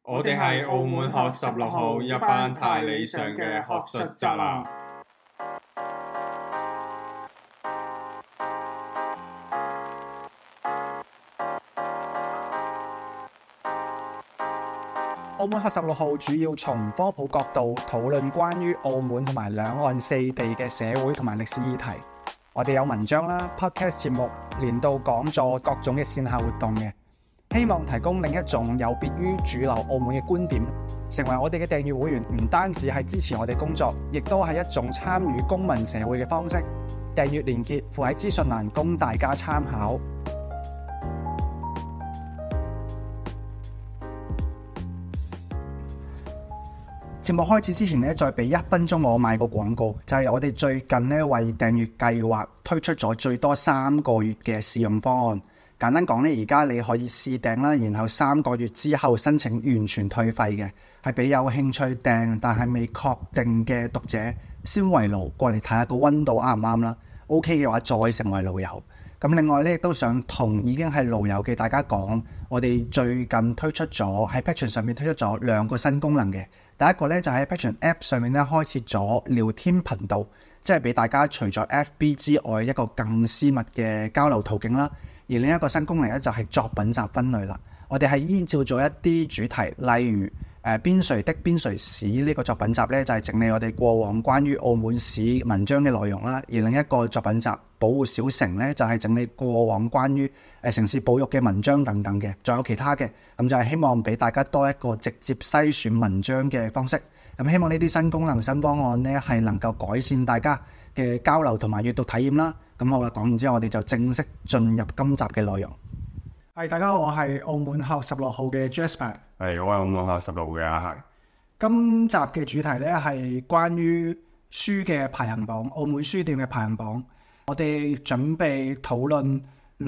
我哋係澳門學16號一班太理想嘅學術宅男。 澳門學16號主要從科普角度討論關於澳門同埋兩岸四地嘅社會同埋歷史議題。我哋有文章啦、podcast 節目、年度講座、各種嘅線下活動嘅，希望提供另一種有別於主流澳門嘅觀點。成為我哋嘅訂閱會員，唔單止係支持我哋工作，亦都係一種參與公民社會嘅方式。訂閱連結附喺資訊欄，供大家參考。節目開始之前咧，再俾1分鐘我賣個廣告，就係我哋最近咧為訂閱計劃推出咗最多3個月嘅試用方案。簡單講咧，而家你可以試訂啦，然後3個月之後申請完全退費嘅，係俾有興趣訂但係未確定嘅讀者先圍爐過嚟睇下個溫度啱唔啱啦。OK 嘅話再成為老友。咁另外咧，亦都想同已經係老友嘅大家講，我哋最近推出咗喺 Patreon 上面推出咗2個新功能嘅。第一個咧就喺 Patreon App 上面咧開設咗聊天頻道，即係俾大家除咗 FB 之外一個更私密嘅交流途徑啦。而另一個新功能咧就係作品集分類啦。我哋係依照咗一啲主題，例如邊誰的邊誰史呢個作品集咧就係整理我哋過往關於澳門史文章嘅內容啦。而另一個作品集保護小城咧就係整理過往關於城市保育嘅文章等等嘅，仲有其他嘅。咁就係希望俾大家多一個直接篩選文章嘅方式。咁希望呢啲新功能新方案咧係能夠改善大家嘅交流同埋閱讀體驗啦。咁好啦，講完之後我哋就正式進入今集嘅內容。係，大家好，我係澳門學16號嘅 Jasper。 係，我係澳門學16號嘅阿恒。 今集嘅主題咧係關於書嘅排行榜，澳門書店嘅排行榜。我哋準備討論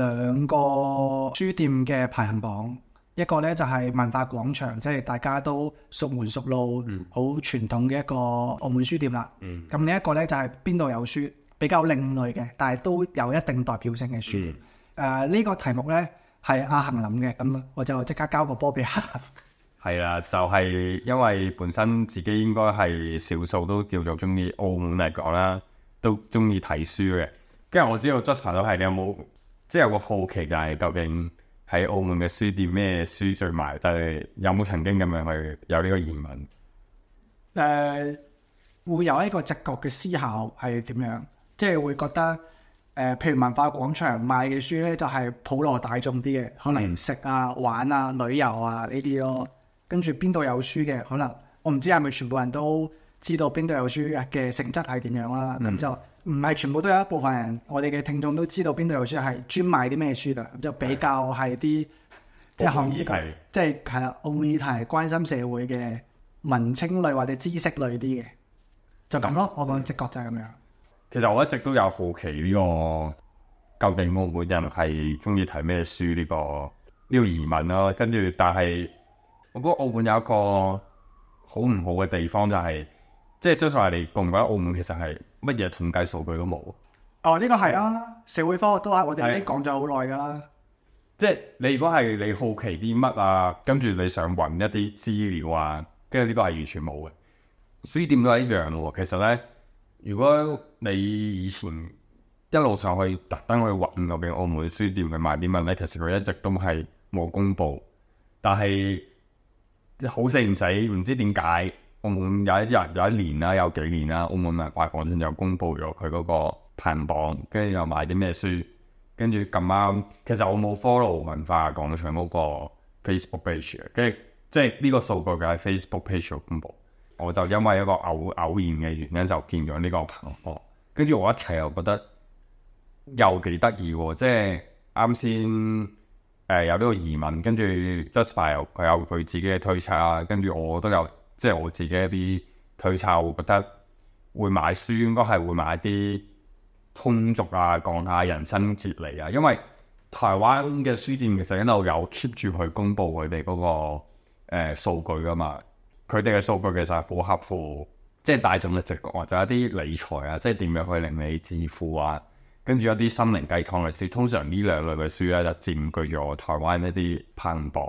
2個書店嘅排行榜，一個咧就係文化廣場，即係大家都熟門熟路、好傳統嘅一個澳門書店啦。咁另一個咧就係邊度有書，比較另類嘅，但係都有一定代表性嘅書店。呢個題目咧係阿恒諗嘅，咁我就即刻交個波俾阿恒。 係啦，就係因為本身自己應該係少數都叫做中意澳門嚟講啦，都中意睇書嘅。跟住我知道 Jasper 都係，你有冇即係有個好奇就係究竟喺澳門嘅書店咩書最賣？但係有冇曾經咁樣去有呢個疑問？ 會有一個直覺嘅思考係點樣？即係會覺得譬如文化廣場賣嘅書咧，就係普羅大眾啲嘅，可能食啊、玩啊、旅遊啊呢啲咯。跟住邊度有書嘅，可能我唔知係咪全部人都知道邊度有書嘅性質係點樣啦。咁就唔係全部都有一部分人，我哋嘅聽眾都知道邊度有書係專賣啲咩書㗎。咁就比較係啲即係行業，即係係啦，澳門議題關心社會嘅文青類或者知識類啲嘅，就咁咯。我個直覺就係咁樣。 其實我一直都有好奇呢個究竟澳門人係中意睇咩書呢個疑問咯。跟住，但係我覺得澳門有一個好唔好嘅地方就係，即係即係話你覺唔覺得澳門其實係乜嘢統計數據都冇？ 哦，呢個係啊，社會科學都係我哋已經講咗好耐㗎啦。 即係你如果係你好奇啲乜啊，跟住你想揾一啲資料啊，跟住呢個係完全冇嘅。書店都係一樣喎。其實咧，如果你以前一路上去特登去揾究竟澳門書店去賣啲乜咧，其實佢一直都係冇公佈。但係好死唔死，唔知點解澳門有一年啦，有幾年啦，澳門文化廣場就公佈咗佢嗰個排行榜，跟住又賣啲咩書，跟住咁啱，其實我冇 follow 文化廣場嗰個 Facebook page 嘅，跟住即係呢個數據嘅喺 Facebook page 度公佈，我就因為一個偶然嘅原因就見咗呢個排行榜，跟住我一睇又覺得又幾得意喎，即係啱先。有呢個疑問，跟住 Jasper 佢有佢自己嘅推測啊，跟住我都有即係我自己一啲推測，我覺得會買書應該係會買啲通俗啊，講下人生哲理啊，因為台灣嘅書店其實一路有 keep 住去公佈佢哋嗰個數據噶嘛，佢哋嘅數據其實係好合乎即係大眾嘅直覺，或者一啲理財啊，即係點樣去令你致富啊。跟住一啲心靈雞湯嘅書，通常呢2類嘅書咧就佔據咗台灣一啲排行榜。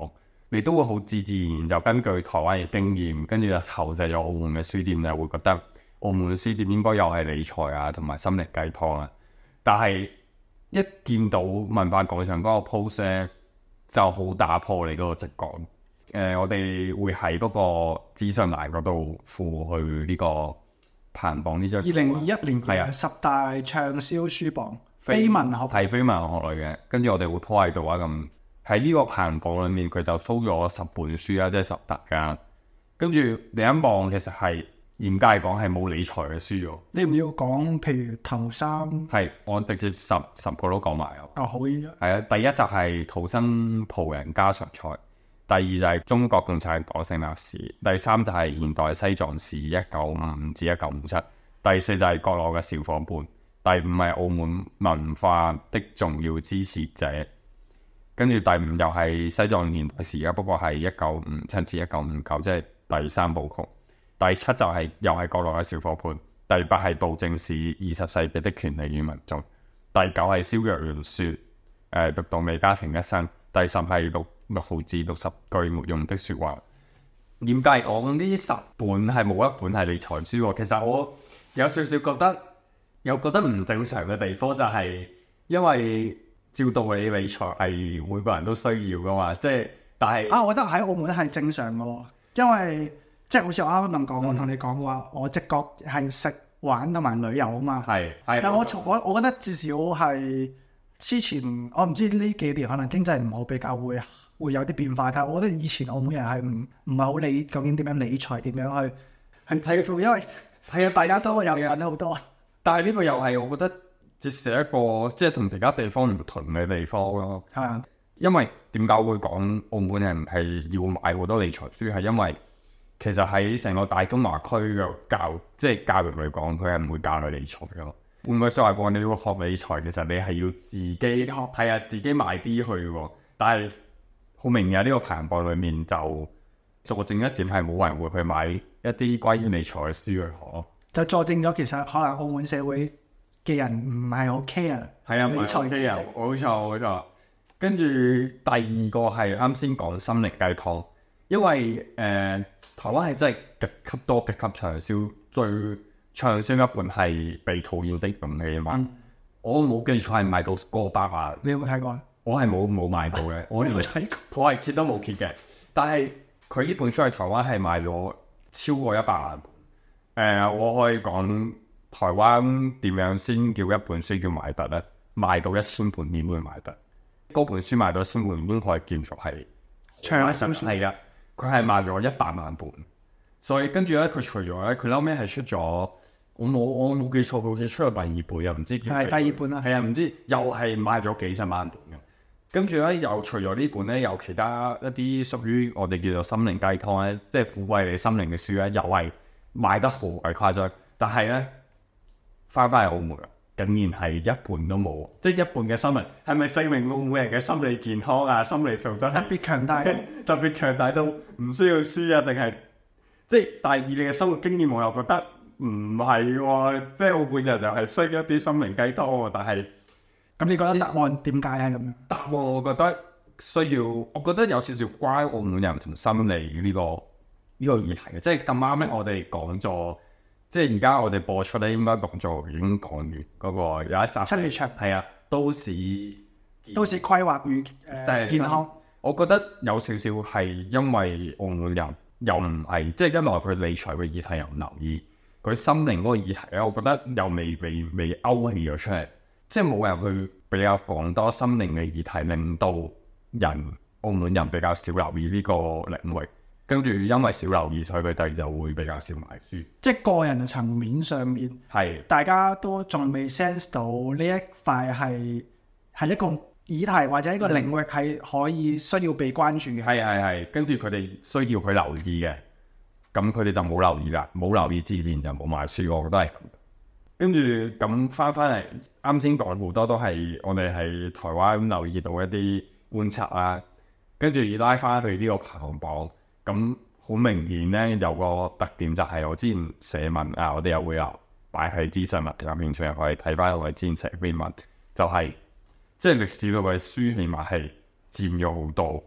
你都會好自然就根據台灣嘅經驗，跟住就投射咗澳門嘅書店，就會覺得澳門嘅書店應該又係理財啊同埋心靈雞湯啊。但係一見到文化廣場嗰個 post 咧，就好打破你嗰個直覺。我哋會喺嗰個資訊欄嗰度附去呢個排行榜呢張。 2021年嘅10大暢銷書榜，非文學係非文學類嘅，跟住我哋會 po 喺度啊咁。喺呢個排行榜裏面，佢就 show 咗10本書啊，即係10大㗎。跟住你一望，其實係嚴格嚟講係冇理財嘅書喎。 你唔要講，譬如頭3？ 係，我直接十個都講埋啊。 哦，好嘅。 係啊，第一就係土生葡人家常菜，第二就係中國共產黨成立史，第三就係現代西藏史1955至1957，第四就係國內嘅小伙伴，第五係澳門文化的重要支持者。跟住第五又係西藏年代史啊，不過係1957至1959，即係第3部曲。第七就係又係國內嘅小伙伴。第八係暴政史20世紀的權利與民眾。第九係蕭若元説讀到美家庭一生。第十係六毫至60句沒用的説話。嚴格講呢10本係冇一本係理財書喎。其實我有少少覺得唔正常嘅地方就係因為。照道理理財係每個人都需要噶嘛，即係但係我覺得喺澳門係正常嘅喎，因為即係好似我啱啱咁講，我同你講話，我直覺係食玩同埋旅遊啊嘛。係，但我覺得至少係之前我唔知呢幾年可能經濟唔好，比較會有啲變化。但係我覺得以前澳門人係唔係好理究竟點樣理財，點樣去致富，因為係啊，大家都有揾好多。 但係呢個又係我覺得。折射一個即係同其他地方唔同嘅地方咯。係啊，因為點解會講澳門人係要買好多理財書？係因為其實喺成個大中華區嘅教育嚟講，佢係唔會教你理財嘅。換句説話講，你要學理財，其實你係要自己學，係啊，自己買啲去喎。但係好明顯呢個排行榜裡面就佐證一點係冇人會去買一啲關於理財嘅書去學。就佐證咗其實可能澳門社會嘅人唔係好 care， 係啊，理財嘅人冇錯。跟住第二個係啱先講心靈雞湯，因為台灣係真係極級多、極級暢銷，最暢銷一本係《被討厭的勇氣》啊嘛。我冇記錯係賣到過百萬。 你有冇睇過啊？ 我係冇買到嘅，我係揭都冇揭嘅。但係佢呢本書喺台灣係賣咗超過100萬本。我可以講。台灣點樣先叫一本書叫賣得咧？賣到1000本點會賣得？嗰本書賣到1000本已經可以見作係暢銷書。 係啊，佢係賣咗100萬本。所以跟住咧，佢除咗咧，佢後尾係出咗，我冇記錯，好似出咗第二本又唔知。 係第二本啦。 係啊，唔知又係賣咗幾十萬本嘅。跟住咧，又除咗呢本咧，有其他一啲屬於我哋叫做心靈雞湯咧，即係撫慰你心靈嘅書咧，又係賣得好鬼誇張。但係咧。翻嚟澳門，竟然係一半都冇，即係一半嘅新聞，係咪證明澳門人嘅心理健康啊、心理素質特別強大，特別強大到唔需要書啊？定係即係第二你嘅生活經驗，我又覺得唔係喎，即係澳門人就係需要一啲心靈雞湯喎。但係咁，你覺得答案點解啊？咁樣答案我覺得需要，我覺得有少少關澳門人同心理呢個議題嘅，即係咁啱咧，我哋講咗。即係而家我哋播出咧，應該動作已經講完嗰個有一集 7月場係啊，都市規劃與健康。 我覺得有少少係因為澳門人又唔係，即係一來佢理財嘅議題又唔留意，佢心靈嗰個議題咧，我覺得又未勾起咗出嚟，即係冇人去比較講多心靈嘅議題，令到澳門人比較少留意呢個領域。跟住，因為少留意，所以佢哋就會比較少買書。即係個人層面上面，係大家都仲未 sense 到呢一塊係一個議題或者一個領域係可以需要被關注嘅。 係，跟住佢哋需要去留意嘅，咁佢哋就冇留意啦，冇留意自然就冇買書。我覺得係咁。跟住咁翻嚟，啱先講好多都係我哋喺台灣留意到一啲觀察啦，跟住拉翻去呢個排行榜。咁好明顯咧，有個特點就係我之前寫文啊，我哋又會擺喺資訊物有興趣可以睇翻我哋之前寫篇文，就係即係歷史類嘅書，起碼係佔咗好多。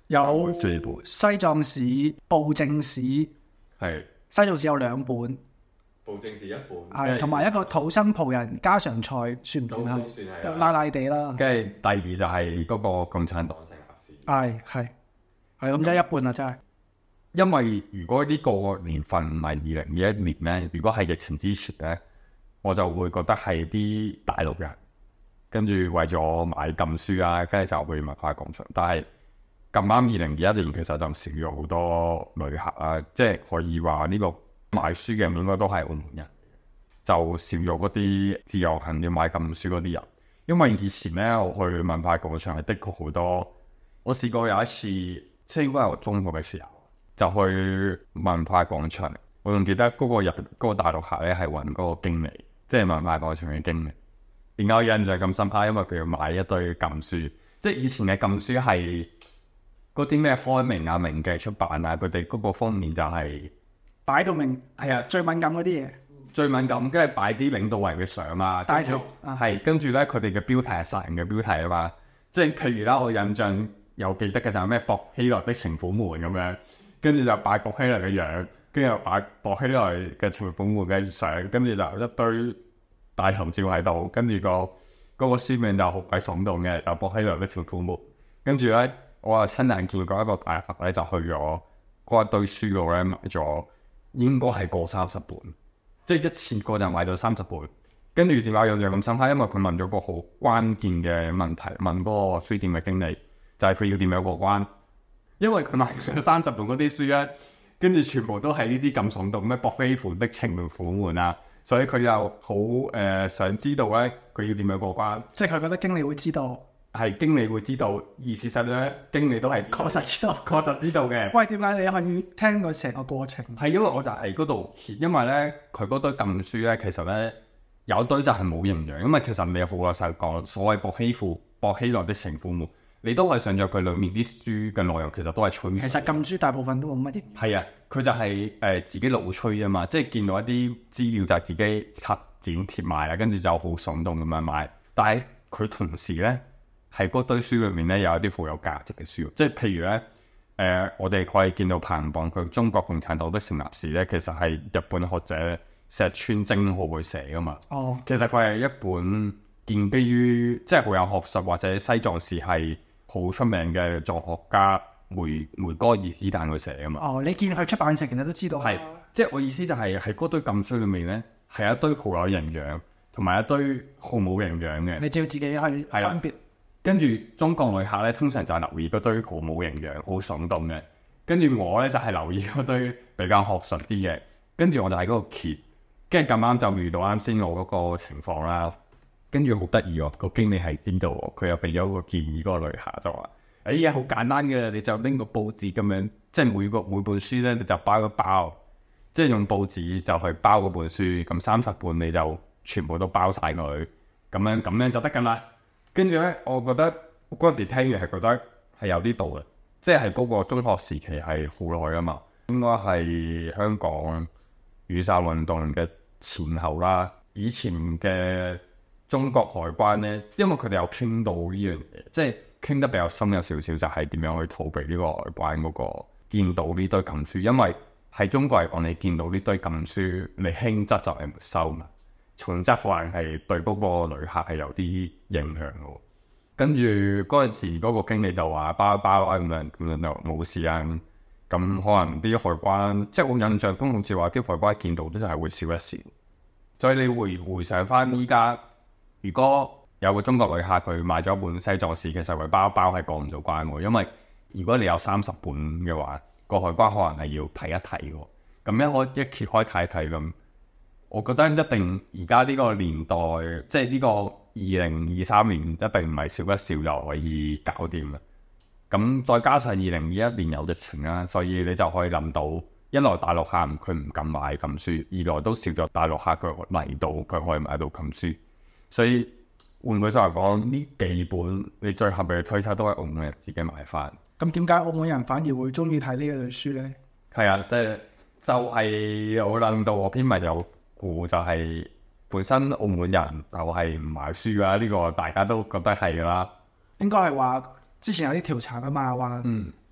有 4本， 西藏史、布政史。 係西藏史有2本， 布政史1本， 係同埋一個土生葡人家常菜，算唔算啊？ 都算係拉拉地啦。 跟住第二就係嗰個共產黨成立史。 係咁，即係一半啦，真係。 因為如果呢個年份唔係2021年咧，如果係疫情之前咧，我就會覺得係啲大陸人跟住為咗買禁書啊，跟住就去文化廣場。但係咁啱2021年其實就少咗好多旅客啊，即係可以話呢個買書嘅人應該都係澳門人，就少咗嗰啲自由行要買禁書嗰啲人。因為以前咧我去文化廣場係的確好多，我試過有一次，即係應該係我中學嘅時候。就去文化廣場，我仲記得嗰個大陸客咧係揾嗰個經理，即係文化廣場嘅經理。點解我印象咁深刻？因為佢要買一堆禁書，即係以前嘅禁書係嗰啲咩開明啊、明記出版啊，佢哋嗰個封面就係擺到明，係啊，最敏感嗰啲嘢， 最敏感，跟住擺啲領導人嘅相啊， 帶條係跟住咧佢哋嘅標題係殺人嘅標題啊嘛，即係譬如啦，我印象有記得嘅就係咩薄熙來的情婦們咁樣。跟住就擺薄熙來嘅樣，跟住又擺薄熙來嘅情婦們嘅相，跟住就一堆大頭照喺度，跟住嗰個書名就好鬼聳動嘅，就薄熙來的情婦們。跟住咧，我啊親眼見過一個大客咧，就去咗嗰一堆書度咧買咗，應該係過30本，即係一次過就買咗30本。跟住點解有樣咁深刻？因為佢問咗個好關鍵嘅問題，問嗰個書店嘅經理，就係佢要點樣過關。因為佢買上30本嗰啲書咧，跟住全部都係呢啲咁聳動咩薄熙來的情婦們啊，所以佢又好想知道咧，佢要點樣過關？ 即係佢覺得經理會知道， 係經理會知道，而事實咧，經理都係確實知道， 確實知道嘅。 喂，點解你可以聽過成個過程？ 係因為我就喺嗰度，因為咧佢嗰堆禁書咧，其實咧有堆就係冇營養，因為其實你有好老實講，所謂薄熙來的情婦們。你都係上咗佢裏面啲書嘅內容，其實都係吹。 其實禁書大部分都冇乜嘢。 係啊，佢就係、自己老吹啊嘛，即係見到一啲資料就係自己拆剪貼埋啦，跟住就好聳動咁樣買。但係佢同時咧，喺嗰堆書裏面咧有一啲好有價值嘅書，即係譬如咧，我哋可以見到排行榜佢中國共產黨的成立史咧，其實係日本學者石川征浩去寫噶嘛。 哦， 其實佢係一本建基於即係好有學術或者西藏史係好出名嘅作學家梅戈爾斯坦佢寫㗎嘛。 哦，你見佢出版社其實都知道。 係，即係我意思就係喺嗰堆禁書裏面咧，係一堆好有營養，同埋一堆好冇營養嘅。 你就要自己去分別。 跟住中國旅客咧，通常就係留意嗰堆好冇營養、好聳動嘅。跟住我咧就係留意嗰堆比較學術啲嘅。跟住我就喺嗰度揭，跟住咁啱就遇到啱先我嗰個情況啦。跟住好得意喎，個經理係知道喎，佢又俾咗個建議嗰個旅客就話：哎呀，好簡單嘅，你就拎個報紙咁樣，即係每本書咧，你就包一包，即係用報紙就去包嗰本書，咁30本你就全部都包晒佢，咁樣就得㗎啦。跟住咧，我覺得嗰陣時聽完係覺得係有啲道理，即係嗰個中學時期係好耐㗎嘛，應該係香港雨傘運動嘅前後啦，以前嘅。中國海關咧，因為佢哋有傾到呢樣嘢，即係傾得比較深有少少，就係點樣去逃避呢個海關嗰個見到呢堆禁書。因為喺中國嚟講，你見到呢堆禁書，你輕則就係沒收嘛，重則可能係對嗰個旅客係有啲影響嘅。跟住嗰陣時，嗰個經理就話包一包啊咁樣就冇事啊。咁可能啲海關，即係我印象中好似話啲海關見到都就係會笑一笑。所以你回想翻依家。如果有個中國旅客佢買咗一本西藏史，其實佢包一包係過唔到關喎，因為如果你有30本嘅話，個海關可能係要睇一睇喎。咁一揭開睇一睇咁，我覺得一定而家呢個年代，即係呢個2023年，一定唔係笑一笑就可以搞掂啦。咁再加上2021年有疫情啦，所以你就可以諗到，一來大陸客佢唔敢買禁書，二來都少咗大陸客佢嚟到佢可以買到禁書。所以換句話講，呢幾本你最合理嘅推測都係澳門人自己買翻。 咁點解澳門人反而會中意睇呢一類書咧？ 係啊，就係我諗到我篇文有估，就係本身澳門人就係唔買書啊，呢個大家都覺得係㗎啦。 應該係話之前有啲調查㗎嘛，話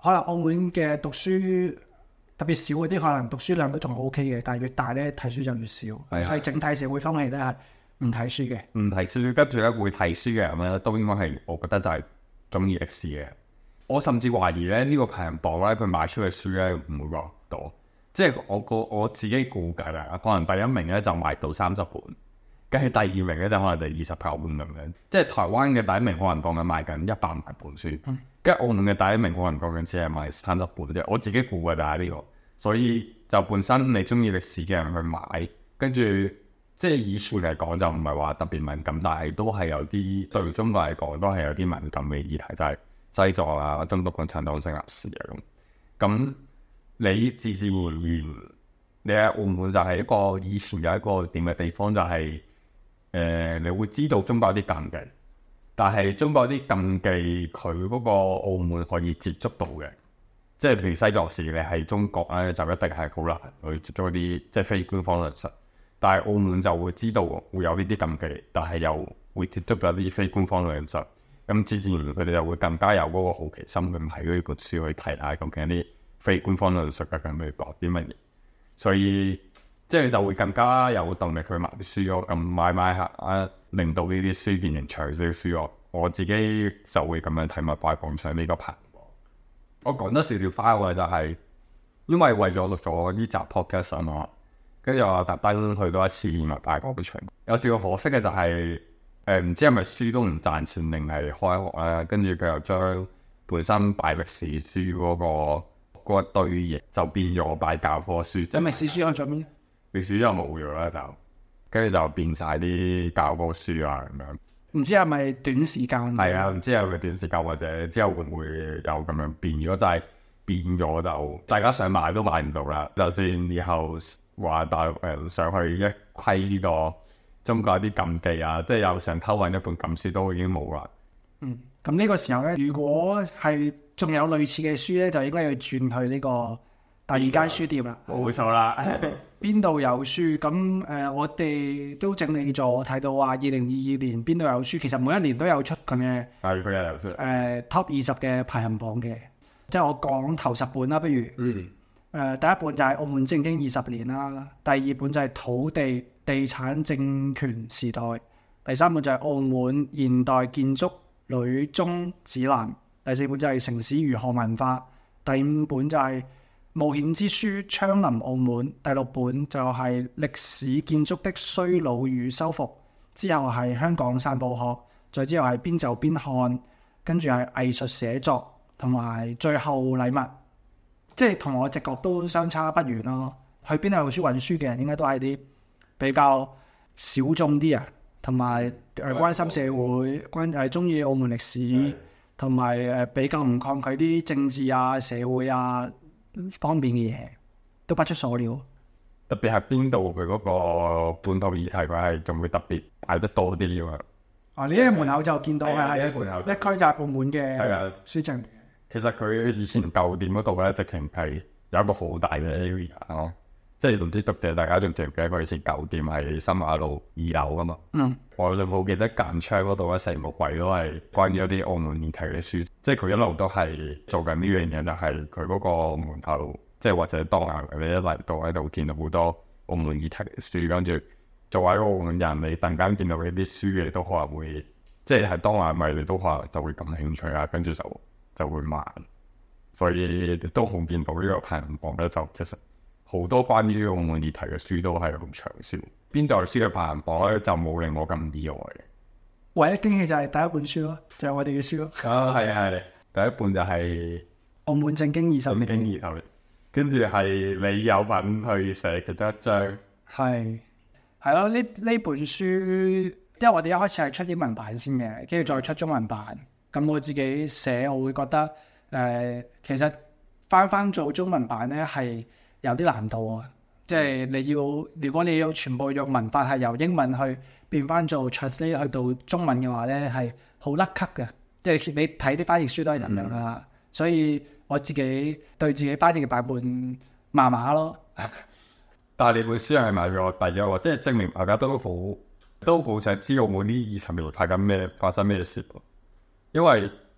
可能澳門嘅讀書特別少嗰啲，可能讀書量都仲 OK 嘅，但係越大咧睇書就越少， 係啊所以整體社會風氣咧係唔睇書嘅。 唔睇書，跟住咧會睇書嘅人咧，都應該係我覺得就係中意歷史嘅。我甚至懷疑咧呢個排行榜咧，佢賣出嘅書咧唔會話多，即係我自己估計啦，可能第一名咧就賣到30本，跟住第二名咧就可能就29本咁樣。即係台灣嘅第一名可能講緊賣緊100萬本書，跟住澳門嘅第一名可能講緊只係賣30本啫。我自己估嘅就係呢個，所以就本身你中意歷史嘅人去買，跟住。即係以前嚟講就唔係話特別敏感，但係都係有啲對中國嚟講都係有啲敏感嘅議題，就係西藏啊、中國共產黨成立史啊咁。咁你自自然然，你喺澳門就係一個以前有一個點嘅地方，就係、你會知道中國有啲禁忌，但係中國有啲禁忌佢嗰個澳門可以接觸到嘅，即係譬如西藏史你喺中國咧就一定係好難去接觸一啲即係非官方論述。但係澳門就會知道會有呢啲禁忌，但係又會接觸到一啲非官方嘅論述，咁自然佢哋就會更加有嗰個好奇心去睇呢本書去睇下究竟啲非官方論述究竟佢講啲乜嘢，所以即係就會更加有動力去買啲書咯。咁買下啊，令到呢啲書變成暢銷書咯。我自己就會咁樣睇麥塊榜上呢個排行榜。我講得少少花嘅就係因為為咗錄咗呢集 podcast 啊嘛。跟住我特登去多一次麥塊榜場，有少少可惜嘅就係唔知係咪書都唔賺錢定係開學啦。跟住佢又將本身擺歷史書嗰一堆嘢就變咗擺教科書，即係歷史書喺上面， 歷史又冇咗啦，就跟住就變晒啲教科書啊咁樣。 唔知係咪短時間？ 係啊，唔知係咪短時間或者之後會唔會有咁樣變？如果就係變咗就大家想買都買唔到啦。就算以後話大陸人上去一窺呢個中國啲禁忌啊，即係又想偷揾一本禁書都已經冇啦。 咁呢個時候咧，如果係仲有類似嘅書咧，就應該要轉去呢個第二間書店啦。 冇錯啦。 邊度有書？咁我哋都整理咗，睇到話2022年邊度有書，其實每一年都有出咁嘅係佢有書。 Top 20嘅排行榜嘅，即係我講頭10本啦，不如。第一本就係澳門政經20年啦，第二本就係土地地產政權時代，第三本就係澳門現代建築女中指南，第四本就係城市如何文化，第五本就係冒險之書槍林澳門，第六本就係歷史建築的衰老與修復，之後係香港散步學，再之後係邊走邊看，跟住係藝術寫作，同埋最後禮物。即係同我直覺都相差不遠咯。去邊度有書揾書嘅人，應該都係啲比較小眾啲啊，同埋關心社會、中意澳門歷史，同埋比較唔抗拒啲政治啊、社會啊方面嘅嘢，都不出所料。 特別係邊度佢嗰個本土議題，佢係仲會特別擺得多啲嘅。 呢一門口就見到係一區就係澳門嘅書證。 其實佢以前舊店嗰度咧，直情係有一個好大嘅 area 咯，即係唔知讀者大家仲記唔記得佢以前舊店係新馬路2樓噶嘛？我就冇記得間窗嗰度咧，成個櫃都係關於一啲澳門議題嘅書，即係佢一路都係做緊呢樣嘢，就係佢嗰個門口，即係或者當下你一嚟到喺度見到好多澳門議題嘅書，跟住作為一個澳門人，你突然間見到呢啲書嘅，都可能會即係喺當下咪你都可能就會感興趣啊，跟住就會買，所以都好見到呢個排行榜咧，就其實好多關於澳門議題嘅書都係好暢銷。邊度書嘅排行榜咧就冇令我咁意外嘅。 唯一驚喜就係第一本書咯，就係我哋嘅書咯。 係啊，第一本就係澳門政經20年， 跟住係你有份去寫其中一章。係咯，呢本書，因為我哋一開始係出英文版先嘅，跟住再出中文版。咁我自己寫，我會覺得其實翻做中文版咧係有啲難度啊！即係如果你要全部用文法係由英文去變翻做 translate 去到中文嘅話咧，係好甩咳嘅。即係你睇啲翻譯書都係咁樣噶啦。所以我自己對自己翻譯嘅版本麻麻咯。 但係你本書係買咗第一個，即係證明大家都好想知道澳門呢20年發生咩事。因為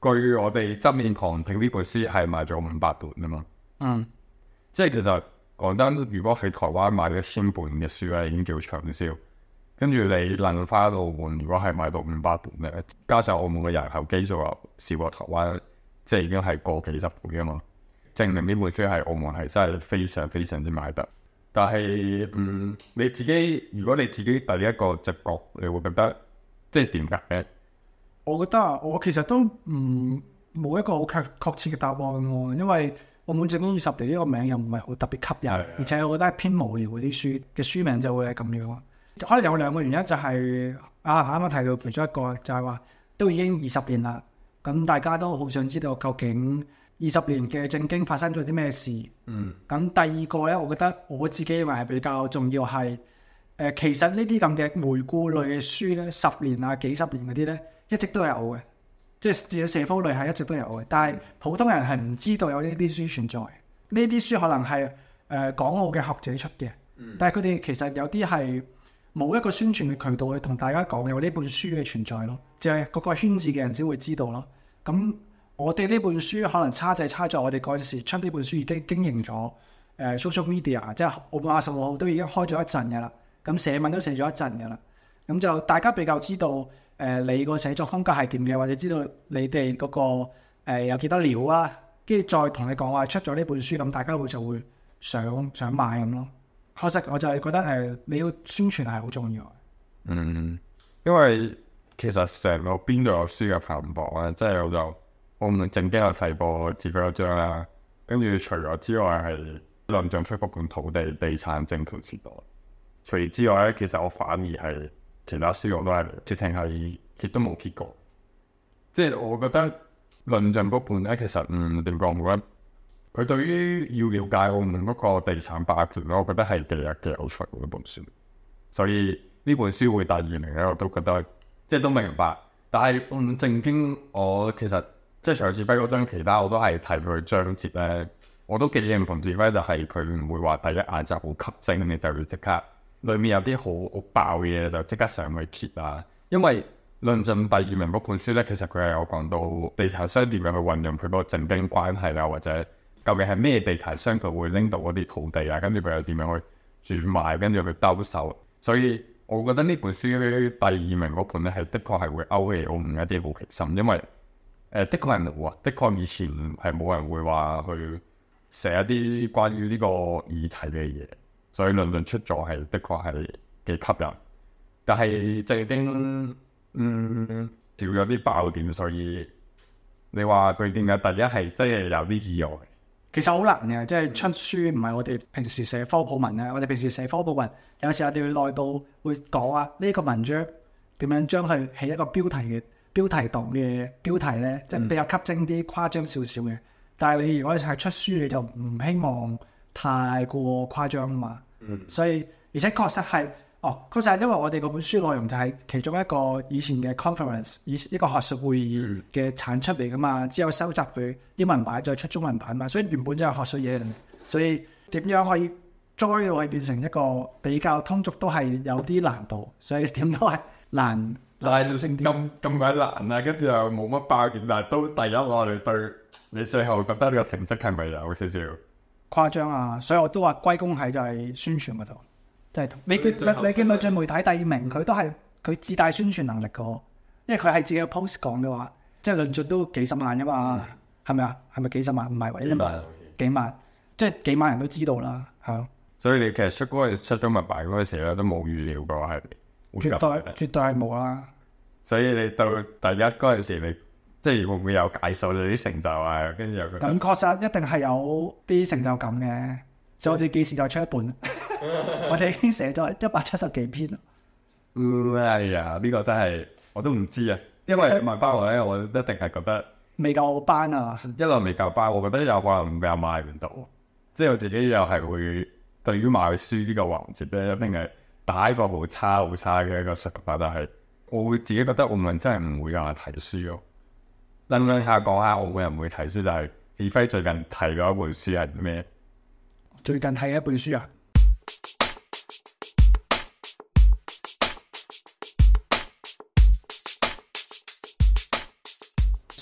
據我哋側面旁聽呢本書係賣咗500本啊嘛。即係其實講真，如果喺台灣買1000本嘅書咧，已經叫暢銷。跟住你能翻澳門，如果係買到500本咧，加上澳門嘅人口基數又少過台灣，即係已經係過幾十倍啊嘛。證明呢本書係澳門係真係非常非常之買得。但係你自己如果你自己第一個直覺，你會覺得即係點解咧？ 我覺得我其實都冇一個好確切嘅答案喎，因為澳門政經20年呢個名又唔係好特別吸引，而且我覺得係偏無聊嗰啲書嘅書名就會係咁樣。可能有2個原因，就係啱啱提到其中一個就係話都已經20年啦，咁大家都好想知道究竟20年嘅政經發生咗啲咩事。咁第二個咧，我覺得我自己認為係比較重要係其實呢啲咁嘅回顧類嘅書咧，10年啊幾十年嗰啲咧，一直都有嘅，即係至少社科類係一直都有嘅，但係普通人係唔知道有呢啲書存在。呢啲書可能係港澳嘅學者出嘅，但係佢哋其實有啲係冇一個宣傳嘅渠道去同大家講有呢本書嘅存在咯，就係嗰個圈子嘅人先會知道咯。咁我哋呢本書可能差在我哋嗰陣時出呢本書已經經營咗social media， 即係澳門20號都已經開咗一陣嘅啦，咁寫文都寫咗一陣嘅啦，咁就大家比較知道你個寫作風格係點嘅，或者知道你哋嗰個有幾多料啊，跟住再同你講話出咗呢本書，咁大家就會想買咁咯。確實我就係覺得你要宣傳係好重要。 因為其實成個邊度有書嘅排行榜咧，即係我就澳門政經有提過自費一張啦，跟住除咗之外係論盡出嗰本土地地產政權時代。除此之外咧，其實我反而係其他書我都係直情係亦都冇揭過。即係我覺得論盡嗰本咧，其實點講好咧？佢對於要了解澳門嗰個地產霸權咧，我覺得係幾有趣嗰本書。所以呢本書會第2名咧，我都覺得即係都明白。但係政經我其實即係除咗志輝嗰張，其他我都係睇佢章節咧，我都幾認同志輝，就係佢唔會話第一眼就好吸睛，你就要即刻裡面有啲好爆嘅嘢就即刻上去揭啊。因為論盡第2名嗰本書咧，其實佢係有講到地產商點樣去運用佢嗰個政經關係啦，或者究竟係咩地產商佢會拎到嗰啲土地啊，跟住佢又點樣去轉賣，跟住去兜售。所以我覺得呢本書第2名嗰本咧，係的確係會勾起澳門一啲好奇心，因為的確係冇啊，的確以前係冇人會話去寫一啲關於呢個議題嘅嘢，所以論盡出咗係的確係幾吸引。但係政經少咗啲爆點，所以你話佢點解第一係真係有啲意外？ 其實好難嘅，即係出書唔係我哋平時寫科普文啊。我哋平時寫科普文，有時候我哋會內到會講啊，呢個文章點樣將佢起一個標題黨嘅標題咧，即係比較吸睛啲、誇張少少嘅。但係你如果係出書，你就唔希望太過誇張啊嘛。所以而且確實係確實係因為我哋嗰本書內容就係其中一個以前嘅 conference， 一個學術會議嘅產出嚟噶嘛，之後收集佢英文版再出中文版嘛，所以原本就係學術嘢嚟。所以點樣可以栽到去變成一個比較通俗都係有啲難度，所以點都係難。 但係咁鬼難啊，跟住又冇乜爆點，但係都第一我哋對你最後覺得呢個成績係咪有少少誇張啊？所以我都話歸功喺就係宣傳嗰度。即係你見論盡媒體第2名，佢都係佢自帶宣傳能力嘅，因為佢係自己嘅 post 講嘅話，即係論盡都幾十萬㗎嘛，係咪啊？係咪幾十萬？唔係喎，幾萬，即係幾萬人都知道啦，係咯。 所以你其實出中文版嗰陣時咧，都冇預料過係絕對係冇啦。 所以你到第一嗰陣時，你即係會唔會有解數你啲成就啊？跟住又咁確實一定係有啲成就感嘅。所以我哋幾時再出一本？我哋已經寫咗170幾篇啦。 哎呀，呢個真係我都唔知啊，因為賣班我咧，我一定係覺得未夠班啊。 一來未夠班，我覺得有可能又賣唔到。即係我自己又係會對於賣書呢個環節咧，一定係打一個好差嘅一個想法，但係我會自己覺得澳門真係唔會有人睇書咯。諗下講下澳門人唔會睇書，但係志輝最近睇咗一本書係咩？ 最近睇一本書啊，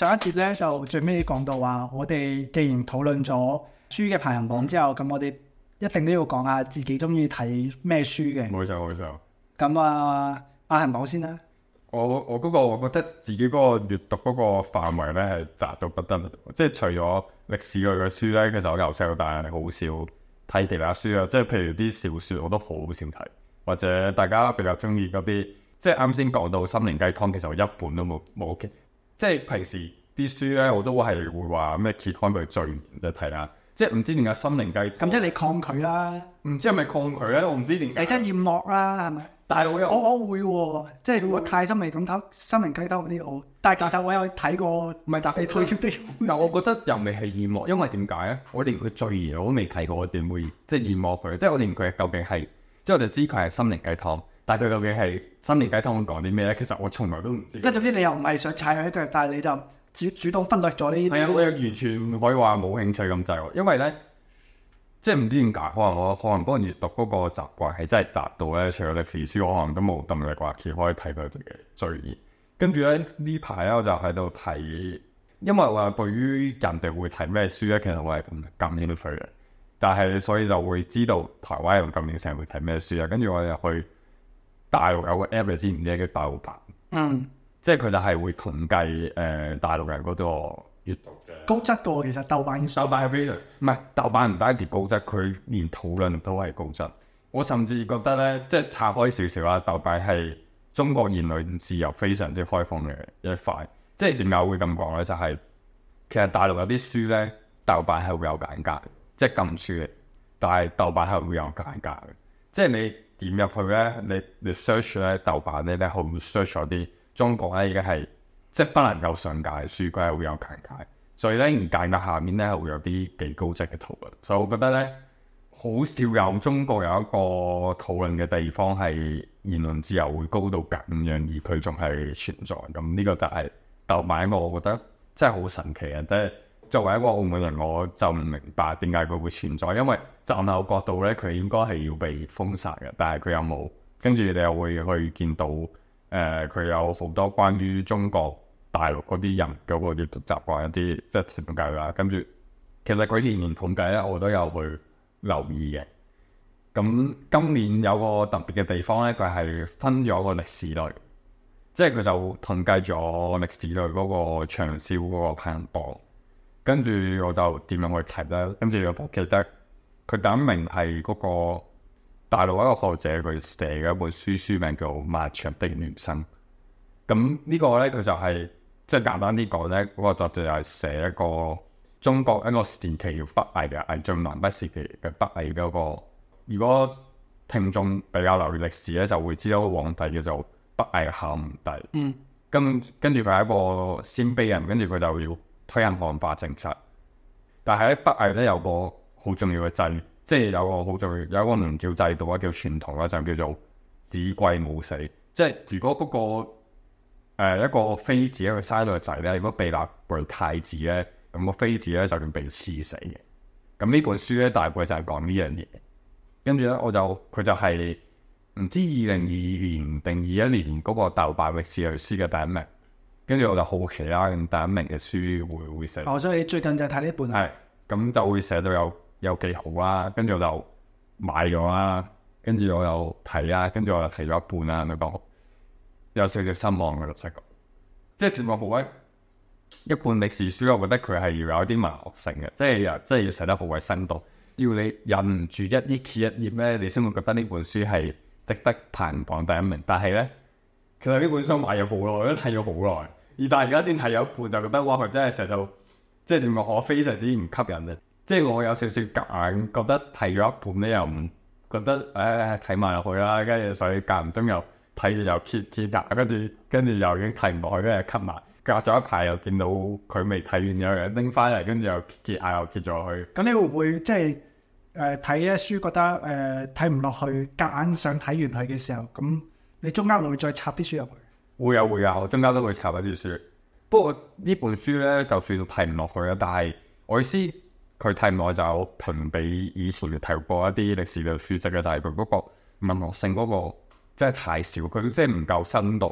上一節咧就最尾講到話，我哋既然討論咗書嘅排行榜之後，咁我哋一定都要講下自己中意睇咩書嘅。 冇錯冇錯。 咁阿恒講先啦。 我覺得自己嗰個閱讀嗰個範圍咧係窄到不得了，即係除咗歷史類嘅書咧，其實我由細到大係好少睇其他書啊，即係譬如啲小説我都好少睇，或者大家比較中意嗰啲，即係啱先講到心靈雞湯，其實我一本都冇嘅，即係平時啲書咧我都係會話咩揭開佢序言就睇啦，即係唔知點解心靈雞湯， 咁即係你抗拒啦， 唔知係咪抗拒咧？我唔知點解。 你真厭惡啦，係咪？ 但係我會喎，即係如果太心靈咁睇心靈雞湯嗰啲我，但係其實我有睇過， 唔係但係退出啲。 但我覺得又未係厭惡，因為點解咧？我連佢序言我都未睇過，我點會即係厭惡佢？即係我連佢究竟係，即係我就知佢係心靈雞湯，但係佢究竟係心靈雞湯會講啲咩咧？其實我從來都唔知。 即係總之你又唔係想踩佢一腳，但係你就主動忽略咗呢啲。 係啊，我又完全唔可以話冇興趣咁滯喎，因為咧。即係唔知點解，可能我嗰個閱讀嗰個習慣係真係窄到咧，除咗歷史書，我可能都冇動力話揭開睇佢哋嘅序言。跟住咧呢排咧我就喺度睇，因為我對於人哋會睇咩書咧，其實我係咁感興趣嘅。但係所以就會知道台灣人究竟成日會睇咩書啊。跟住我又去大陸有個 app 你知唔知叫豆瓣？即係佢就係會統計大陸人嗰個閱讀。 高質嘅喎，其實豆瓣係非常唔係豆瓣唔單止高質，佢連討論都係高質。我甚至覺得咧，即係拆開少少啦，豆瓣係中國言論自由非常之開放嘅一塊。即係點解會咁講咧？就係、其實大陸有啲書咧，豆瓣係會有簡介，即係禁書嘅，但係豆瓣係會有簡介嘅。即係你點入去咧，你 search 咧豆瓣咧，會 search 咗啲中國咧已經係即係不能夠上架嘅書，佢係會有簡介。所以咧，而簡介下面咧係會有啲幾高質嘅討論，所以我覺得咧，好少有中國有一個討論嘅地方係言論自由會高到咁樣，而佢仲係存在。咁呢個就係豆瓣，我覺得真係好神奇嘅。即係作為一個澳門人，我就唔明白點解佢會存在，因為站喺我角度咧，佢應該係要被封殺嘅，但係佢又冇。跟住你又會去見到佢有好多關於中國大陸嗰啲人嗰個閱讀習慣一啲即係統計啦，跟住其實佢年年統計咧，我都有去留意嘅。咁今年有個特別嘅地方咧，佢係分咗個歷史類，即係佢就統計咗歷史類嗰個暢銷嗰個排行榜。跟住我就點樣去睇咧？跟住我記得佢第一名係嗰個大陸一個學者佢寫嘅一本書，書名叫《漫長的人生》。咁呢個咧佢就係、即係簡單啲講咧，嗰個作者係寫一個中國一個時期叫北魏嘅魏晉南北時期嘅北魏嗰個。如果聽眾比較留意歷史咧，就會知道個皇帝叫做北魏孝武帝。跟住佢係一個鮮卑人，跟住佢就要推行漢化政策。但係喺北魏咧有個好重要嘅制，即係有個好重要有一個唔叫制度啊，叫傳統啦，就叫做子貴母死。即係如果嗰個一個妃子佢生咗個仔咧，如果被立為太子咧，咁個妃子咧就要被賜死嘅。咁呢本書咧大概就係講呢樣嘢。跟住咧佢就係唔知2022年定21年嗰個豆瓣歷史類書嘅第一名。跟住我就好奇啦，咁第一名嘅書會寫。 所以你最近就睇呢本係咁就會寫到有幾好啦。跟住我就買咗啦，跟住我又睇啦，跟住我又睇咗一半啦，你講有少少失望嘅老實講。即係全部好一本歷史書，我覺得佢係要有啲文學性嘅，即係要寫得好鬼生動，要你忍唔住一頁揭一頁咧，你先會覺得呢本書係值得排行榜第一名。但係咧，其實呢本書買咗好耐，都睇咗好耐，但係而家先睇咗一半，就覺得哇，佢真係寫到即係點講，我非常之唔吸引嘅。即係我有少少夾硬覺得睇咗一半咧，又唔覺得睇埋落去啦，跟住所以間唔中又睇住又揭下，跟住又已經睇唔落去，跟住 cut 埋。隔咗一排又見到佢未睇完，有人拎翻嚟，跟住又揭下又揭咗去。咁你會唔會即係睇一書覺得睇唔落去，夾硬想睇完佢嘅時候，咁你中間會唔會再插啲書入去？ 會啊，我中間都會插一啲書。不過呢本書咧，就算睇唔落去啦，但係我意思佢睇唔落就評比以前睇過一啲歷史嘅書籍嘅，就係佢嗰個文學性嗰個真係太少，佢即係唔夠生動。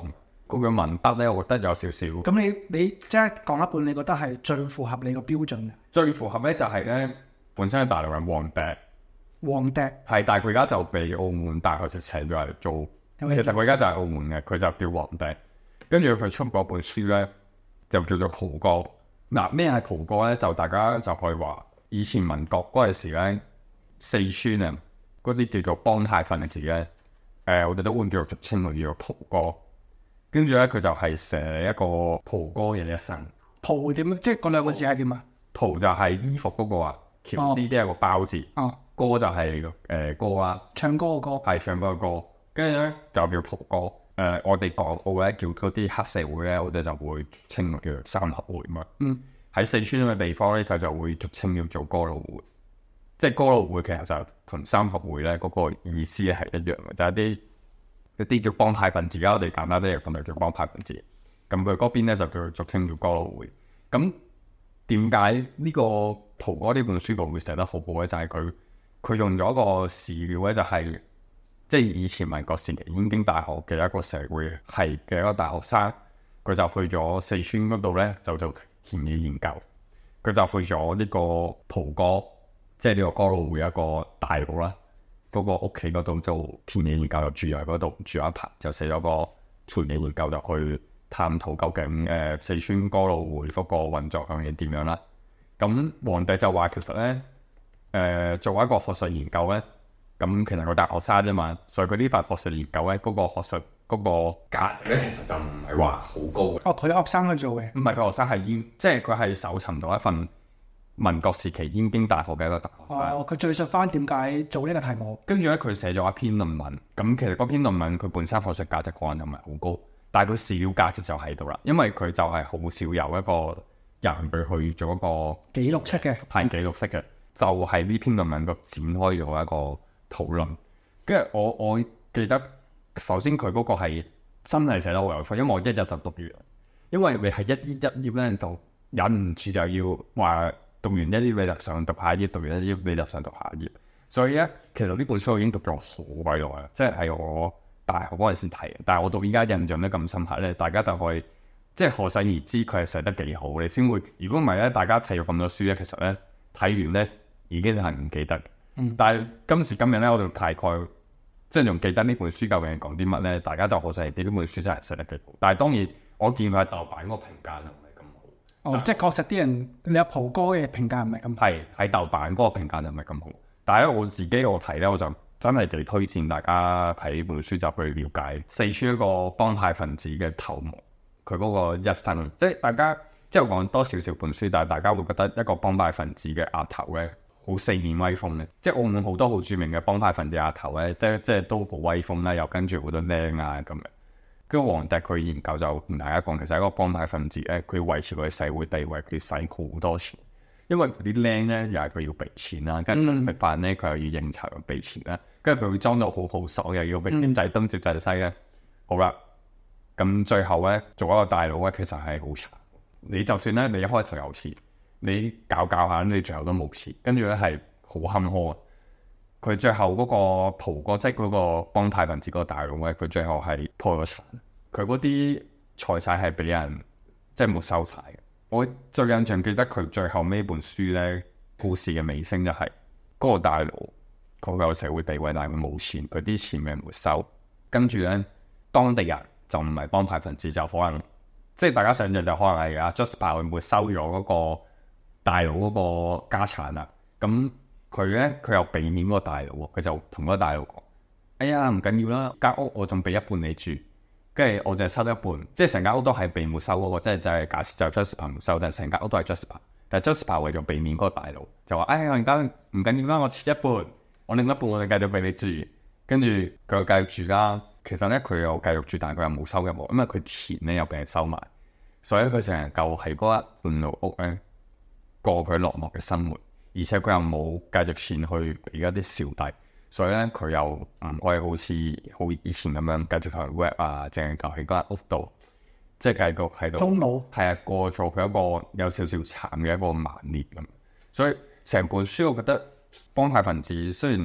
佢嘅文筆咧，我覺得有少少。 咁你即係講一半，你覺得係最符合你個標準嘅？ 最符合咧就係咧，本身喺大陸嘅黃笛， 黃笛係，但係佢而家就被澳門大學就請咗嚟做。其實佢而家就係澳門嘅，佢就叫黃笛。跟住佢出嗰本書咧，就叫做蒲歌。嗱，咩係蒲歌咧？就大家就可以話，以前民國嗰陣時咧，四川啊嗰啲叫做幫派分子咧，我哋都會叫做俗稱佢叫做蒲歌。跟住咧，佢就係寫一個蒲歌嘅一生。 蒲點？即係嗰兩個字係點啊？ 蒲就係衣服嗰個啊，喬絲啲係個包字。 哦。 歌就係歌啦， 唱歌嘅歌。 係唱歌嘅歌。跟住咧就叫蒲歌。我哋港澳咧叫嗰啲黑社會咧，我哋就會稱叫做三合會嘛。喺四川嘅地方咧，佢就會俗稱叫做哥老會。即係哥老會其實就同三合會咧嗰個意思係一樣嘅，就係一啲叫幫派分子啦。我哋簡單啲嚟講就叫幫派分子。咁佢嗰邊咧就叫俗稱叫哥老會。咁點解呢個蒲歌呢本書會寫得好好咧？就係佢用咗個史料咧，就係即係以前民國時期燕京大學嘅一個社會系嘅一個大學生，佢就去咗四川嗰度咧，就做田野研究。佢就去咗呢個蒲歌，即係呢個哥老會一個大佬啦，嗰個屋企嗰度做田野研究，就住喺嗰度住一排，就寫咗個田野研究，就去探討究竟四川哥老會嗰個運作係點樣啦。咁黃帝就話其實咧，做一個學術研究咧，咁其實佢大學生啫嘛，所以佢呢份學術研究咧，嗰個學術嗰個價值咧，其實就唔係話好高嘅。 哦，佢學生去做嘅。 唔係佢學生係即係佢係搜尋到一份民國時期燕京大學嘅一個大學生。 哦，佢敘述翻點解做呢個題目。 跟住咧，佢寫咗一篇論文。咁其實嗰篇論文佢本身學術價值可能就唔係好高，但係佢史料價值就喺度啦。因為佢就係好少有一個人去做一個記錄式嘅， 係記錄式嘅，就係呢篇論文個展開咗一個討論。跟住我記得，首先佢嗰個係真係寫得好有趣，因為我一日就讀完。因為你係一頁咧，就忍唔住就要話讀完一頁你就想讀下一頁，讀完一頁你就想讀下一頁。所以咧，其實呢本書我已經讀咗好鬼耐啦，即係我大學嗰陣先睇嘅。但係我到依家印象得咁深刻咧，大家就可以即係可想而知佢係寫得幾好，你先會。如果唔係咧，大家睇咗咁多書咧，其實咧睇完咧已經係唔記得。但係今時今日咧，我哋大概即係仲記得呢本書究竟講啲乜咧，大家就可想而知呢本書真係寫得幾好。但係當然我見佢喺豆瓣嗰個評價就唔係咁好。 哦，即係確實啲人你有蒲歌嘅評價唔係咁好。 係喺豆瓣嗰個評價就唔係咁好。但係我自己我睇咧，我就真係幾推薦大家睇呢本書就去了解四川一個幫派分子嘅頭目，佢嗰個一生。即係大家即係講多少少本書，但係大家會覺得一個幫派分子嘅額頭咧，好四面威風咧。即係澳門好多好著名嘅幫派分子額頭咧，即係都好威風啦，又跟住好多靚啊咁樣。跟住黃帝佢研究就同大家講，其實一個幫派分子咧，佢要維持佢嘅社會地位，佢使好多錢。因為佢啲靚咧，又係佢要俾錢啦，跟住食飯咧，佢又要應酬又俾錢啦，跟住佢會裝到好豪爽，又要俾尖仔東接仔西咧。好啦，咁最後咧做一個大佬咧，其實係好慘。你就算咧你一開頭有錢，你搞下，你最後都冇錢，跟住咧係好坎坷。佢最後嗰個蒲歌，即係嗰個幫派分子嗰個大佬咧，佢最後係破咗產，佢嗰啲財產係俾人即係沒收晒嘅。我最印象記得佢最後尾本書咧，故事嘅尾聲就係嗰個大佬，佢有社會地位，但係佢冇錢，佢啲錢俾人沒收。跟住咧，當地人就唔係幫派分子，就可能即係大家想象就可能係阿 Jasper 會沒收咗嗰個大佬嗰個家產啦。咁佢咧佢又俾面嗰個大佬，佢就同嗰個大佬講：哎呀，唔緊要啦，間屋我仲俾一半你住。跟住我就係收一半，即係成間屋都係被沒收嗰個，即係就係假設就 Jasper 沒收，但係成間屋都係 Jasper。但係 Jasper 為咗避免嗰個大佬，就話：哎呀，我而家唔緊要啦，我切一半，我另一半我哋繼續俾你住。跟住佢又繼續住啦。其實咧佢又繼續住，但係佢又冇收入喎，因為佢錢咧又俾人收埋，所以佢淨係夠喺嗰一半路屋咧過佢落寞嘅生活，而且佢又冇繼續錢去俾一啲小弟。所以咧，佢又唔可以好似好以前咁樣繼續同人 rap 啊，淨係留喺嗰間屋度，即係繼續喺度。 中老係啊，過咗佢一個有少少慘嘅一個晚年咁。所以成本書我覺得幫派分子雖然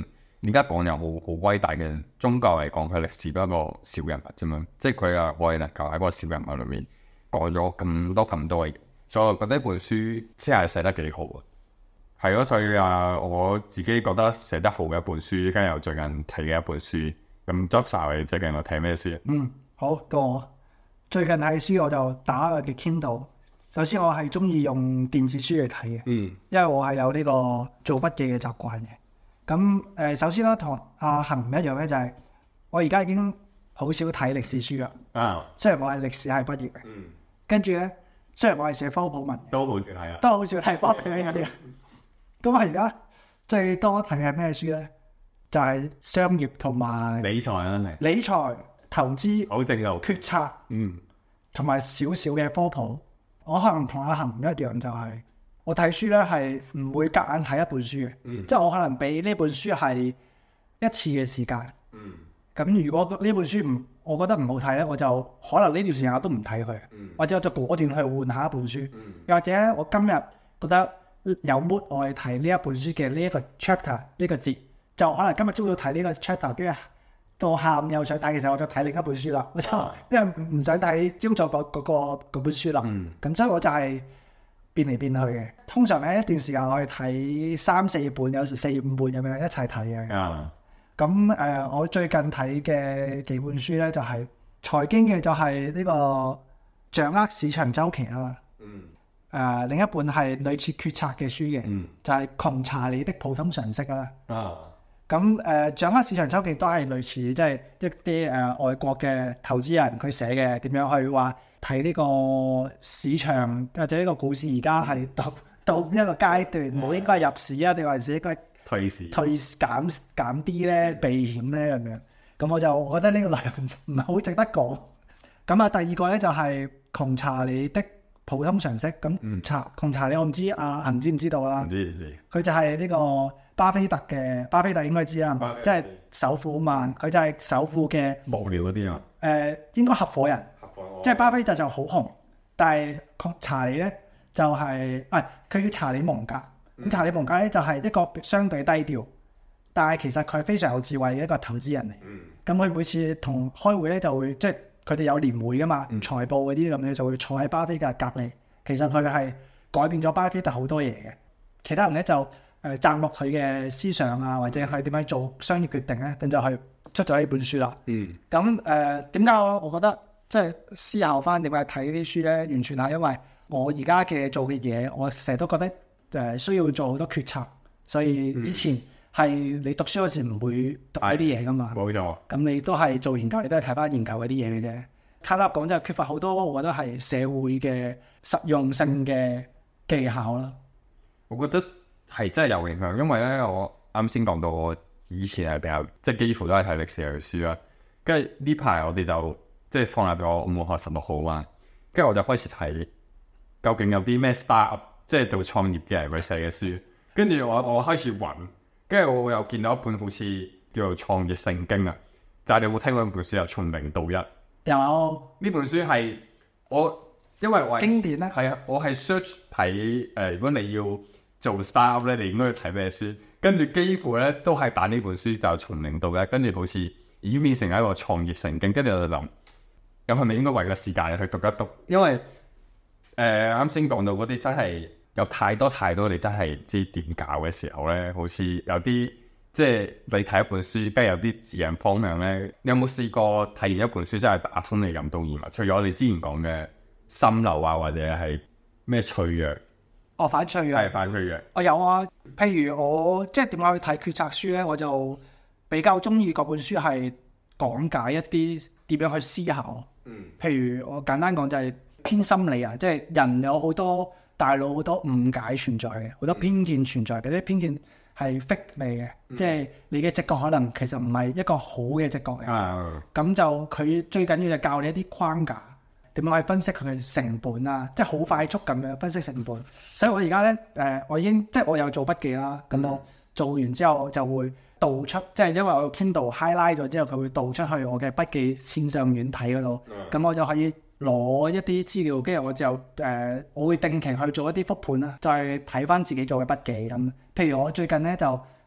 而家講又好偉大嘅，宗教嚟講，佢歷史都係一個小人物啫嘛。即係佢啊，我哋能夠喺嗰個小人物裏面講咗咁多嘅嘢，所以我覺得呢本書先係寫得幾好啊。係咯，所以啊，我自己覺得寫得好嘅一本書，跟住又最近睇嘅一本書。咁 Joshua 你最近有睇咩書？ 好，到我最近睇書我就打佢嘅 Kindle。首先我係中意用電子書嚟睇嘅，因為我係有呢個做筆記嘅習慣嘅。咁首先咧同阿恒唔一樣咧，就係我而家已經好少睇歷史書啦。雖然我係歷史系畢業嘅，跟住咧雖然我係寫科普文， 都好少睇啊， 都好少睇科普嘅啲。咁我而家最多睇係咩書咧？就係商業同埋理財啦， 理財、投資、 好正路決策，同埋少少嘅科普。我可能同阿恒唔一樣，就係我睇書咧係唔會夾硬睇一本書嘅，即係我可能俾呢本書係一次嘅時間。咁如果呢本書我覺得唔好睇咧，我就可能呢段時間我都唔睇佢，或者我就果斷去換下一本書。又或者咧，我今日覺得有 mood 我去睇呢一本書嘅呢一個 chapter 呢個節，就可能今日朝早睇呢個 chapter，跟住到下午又想睇嘅時候，我就睇另一本書啦。我就因為唔想睇朝早嗰本書啦。咁所以我就係變嚟變去嘅。通常咧一段時間我係睇3、4本，有時4、5本咁樣一齊睇嘅。咁我最近睇嘅幾本書咧就係財經嘅，就係呢個掌握市場週期啦。另一本係類似決策嘅書嘅，就係窮查理的普通常識啦。咁掌握市場週期都係類似，即係一啲外國嘅投資人佢寫嘅點樣去話睇呢個市場或者呢個股市而家係到一個階段，冇應該入市啊，定還是應該退市減啲咧，避險咧咁樣。咁我就覺得呢個內容唔係好值得講。咁啊，第二個咧就係窮查理的普通常識。咁窮查理我唔知阿恒知唔知道啦。唔知。佢就係呢個巴菲特嘅，巴菲特應該知啦，即係首富啊嘛。佢就係首富嘅無聊嗰啲啊。 應該合夥人。即係巴菲特就好紅，但係查理咧就係佢叫查理蒙格。咁查理蒙格咧就係一個相對低調，但係其實佢係非常有智慧嘅一個投資人嚟。咁佢每次同開會咧就會即係佢哋有年會噶嘛，財報嗰啲咁樣就會坐喺巴菲特隔離。其實佢係改變咗巴菲特好多嘢嘅。其他人咧就讚落佢嘅思想啊，或者佢點樣做商業決定咧，咁就去出咗呢本書啦。咁點解我覺得即係思考翻點解睇呢啲書咧？完全係因為我而家嘅做嘅嘢，我成日都覺得需要做好多決策，所以以前係你讀書嗰時唔會讀呢啲嘢噶嘛。冇錯。咁你都係做研究，你都係睇翻研究嗰啲嘢嘅啫。簡單講就係缺乏好多，我覺得係社會嘅實用性嘅技巧啦。 我覺得係真係有影響，因為咧我啱先講到我以前係比較即係幾乎都係睇歷史嘅書啦。跟住呢排我哋就即係放入咗我冇學16號嘛，跟住我就開始睇究竟有啲咩 startup 即係做創業嘅人佢寫嘅書。跟住我開始揾，跟住我又見到一本好似叫做《創業聖經》啊。就係你有冇聽過一本書啊？從零到一。 有呢本書係因為我經典咧。 係啊，我係 search 睇如果你要做 startup 咧，你應該要睇咩書？跟住幾乎咧都係打呢本書，就從零到一，跟住好似已經變成一個創業聖經。跟住我就諗，咁係咪應該為個時間去讀一讀？因為啱先講到嗰啲真係有太多你真係唔知點搞嘅時候咧，好似有啲即係你睇一本書，跟住有啲指引方向咧。你有冇試過睇完一本書真係打通你任督二脈？除咗你之前講嘅心流啊，或者係咩脆弱？ 反脆弱。係反脆弱。 我有啊，譬如我即係點解去睇決策書咧，我就比較中意嗰本書係講解一啲點樣去思考。譬如我簡單講就係偏心理啊，即係人有好多大腦好多誤解存在嘅，好多偏見存在嘅。啲偏見係 fake 嚟嘅，即係你嘅直覺可能其實唔係一個好嘅直覺嚟。咁就佢最緊要就教你一啲框架。點樣去分析佢嘅成本啊？即係好快速咁樣分析成本。所以我而家咧我已經即係我有做筆記啦。咁我做完之後我就會導出，即係因為我 Kindle highlight 咗之後，佢會導出去我嘅筆記線上軟體嗰度。咁我就可以攞一啲資料，跟住我就我會定期去做一啲復盤啦，再睇翻自己做嘅筆記咁。譬如我最近咧就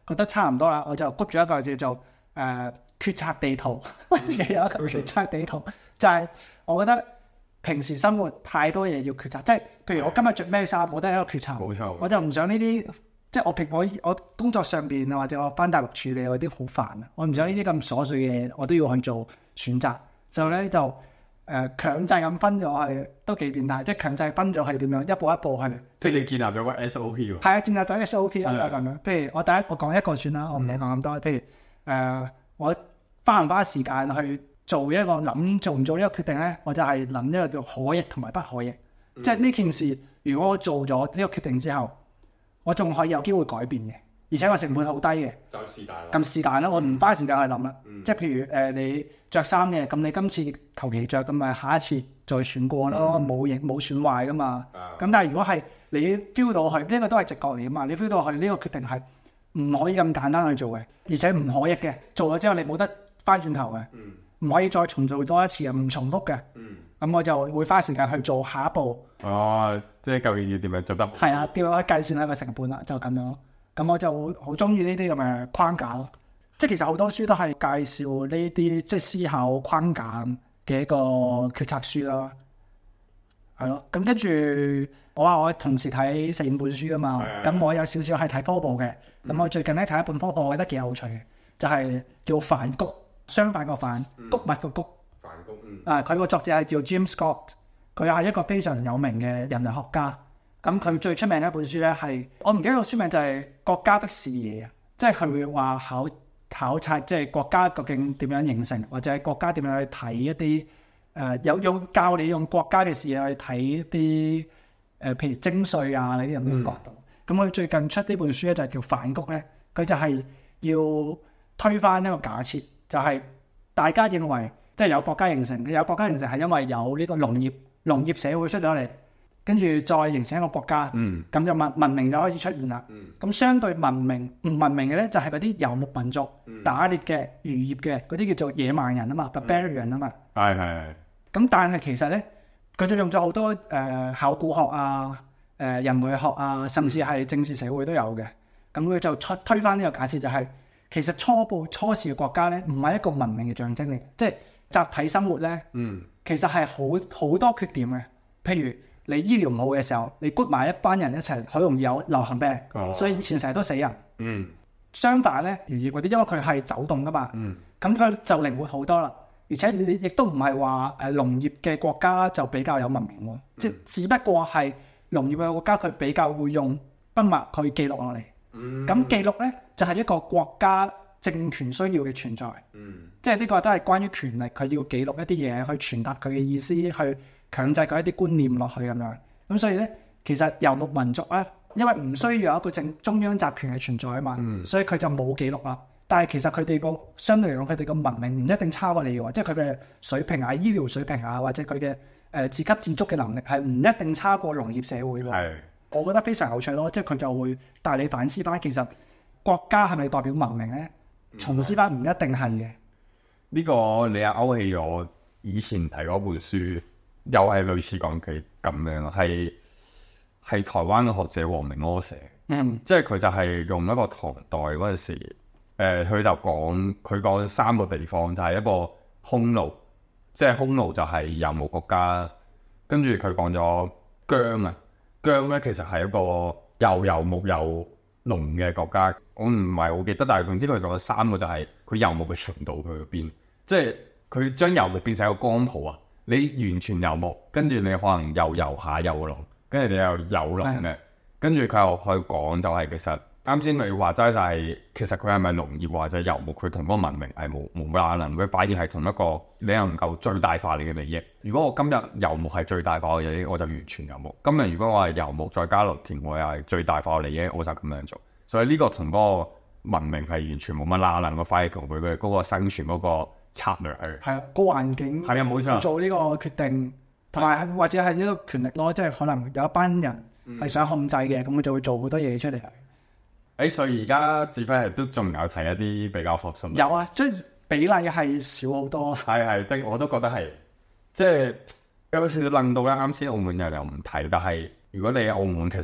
覺得差唔多啦，我就谷咗一個叫做決策地圖，我自己有一個決策地圖，就係我覺得平時生活太多嘢要決策，即係譬如我今日着咩衫，我都係一個決策。 冇錯， 我就唔想呢啲，即係我工作上邊或者我翻大陸處理嗰啲好煩啊，我唔想呢啲咁瑣碎嘅嘢，我都要去做選擇，就咧就強制咁分咗係都幾變態，即係強制分咗係點樣一步一步係。 即係你建立咗個 SOP 喎。 係啊，建立咗 SOP 啦，就係咁樣。譬如我講一個算啦，我唔理講咁多。譬如我花唔花時間去做一個諗做唔做呢個決定咧，我就係諗一個叫可逆同埋不可逆。即係呢件事，如果我做咗呢個決定之後，我仲可以有機會改變嘅，而且個成本好低嘅。就是但啦。咁是但啦，我唔花時間去諗啦。即係譬如你着衫嘅，咁你今次求其着，咁咪下一次再選過咯，冇損壞噶嘛。咁但係如果係你 feel 到佢呢個都係直覺嚟噶嘛，你 feel 到佢呢個決定係唔可以咁簡單去做嘅，而且唔可逆嘅，做咗之後你冇得翻轉頭嘅，唔可以再重做多一次嘅，唔重複嘅。咁我就會花時間去做下一步。 哦，即係究竟要點樣做得好？ 係啊，點樣去計算一個成本啦，就咁樣。咁我就好中意呢啲咁嘅框架咯。即係其實好多書都係介紹呢啲即係思考框架嘅一個決策書啦。係咯，咁跟住我話我同時睇4-5本書啊嘛。咁我有少少係睇科普嘅。咁我最近咧睇一本科普，我覺得幾有趣嘅，就係叫梵谷，相反個梵，谷物個谷。梵谷，佢個作者係叫 James Scott， 佢係一個非常有名嘅人類學家。咁佢最出名嘅一本書咧係，我唔記得個書名就係《國家的視野》啊，即係佢會話考察即係國家究竟點樣形成，或者係國家點樣去睇一啲教你用國家嘅視野去睇一啲譬如徵稅啊呢啲咁嘅角度。咁佢最近出呢本書咧就係叫梵谷咧，佢就係要推翻一個假設，就係大家認為即係有國家形成，有國家形成係因為有呢個農業社會出咗嚟。跟住再形成一個國家，咁就文明就開始出現啦。咁相對文明唔文明嘅咧，就係嗰啲遊牧民族、打獵嘅、漁業嘅嗰啲叫做野蠻人啊嘛 ，barbarian 啊嘛。係。咁但係其實咧，佢就用咗好多考古學啊、人類學啊，甚至係政治社會都有嘅。咁佢就推翻呢個假設，就係其實初始嘅國家咧，唔係一個文明嘅象徵嚟，即係集體生活咧，其實係好多缺點嘅，譬如。你醫療唔好嘅時候，你谷埋一班人一齊，好容易有流行病，所以以前成日都死人。相反咧，漁業嗰啲，因為佢係走動噶嘛，咁佢就靈活好多啦。而且你亦都唔係話農業嘅國家就比較有文明喎，即係只不過係農業嘅國家佢比較會用筆墨去記錄落嚟。咁記錄咧就係一個國家政權需要嘅存在。即係呢個都係關於權力，佢要記錄一啲嘢去傳達佢嘅意思去。強制佢一啲觀念落去咁樣，咁所以咧，其實遊牧民族咧，因為唔需要有一個中央集權嘅存在啊嘛，所以佢就冇記錄啦。但係其實佢哋個相對嚟講，佢哋個文明唔一定差過你喎，即係佢嘅水平啊、醫療水平啊，或者佢嘅自給自足嘅能力係唔一定差過農業社會喎。我覺得非常有趣咯，即係佢就會帶你反思翻，其實國家係咪代表文明咧？重思翻唔一定係嘅。 呢個你又勾起我以前睇嗰本書。又係類似講嘅咁樣咯，係台灣嘅學者黃明柯寫，即係佢就係用一個唐代嗰陣時，佢就講3個地方，就係一個匈奴，即係匈奴就係遊牧國家，跟住佢講咗姜啊，姜咧其實係一個又遊牧又農嘅國家，我唔係好記得，但係總之佢講咗3個就係佢遊牧嘅程度去邊，即係佢將遊牧變成一個光譜啊。你完全遊牧，跟住你可能又遊下遊農，跟住你又有農嘅，跟住佢又去講就係其實啱先你話齋就係其實佢係咪農業或者遊牧，佢同嗰個文明係冇可能，佢反而係同一個你能夠最大化你嘅利益。如果我今日遊牧係最大化嘅利益，我就完全遊牧；今日如果我係遊牧再加農田，我又係最大化嘅利益，我就咁樣做。所以呢個同嗰個文明係完全冇乜拉能，我反而同佢嘅嗰個生存嗰個策略係啊， 個環境係啊，冇錯，做呢個決定，同埋或者係呢個權力咯，即係可能有一班人係想控制嘅，咁佢就會做好多嘢出嚟。 所以而家只不過係都仲有睇一啲比較學術。 有啊，即係比例係少好多。 係，我都覺得係，即係有少少諗到咧。啱先澳門又唔睇，但係如果你喺澳門，其實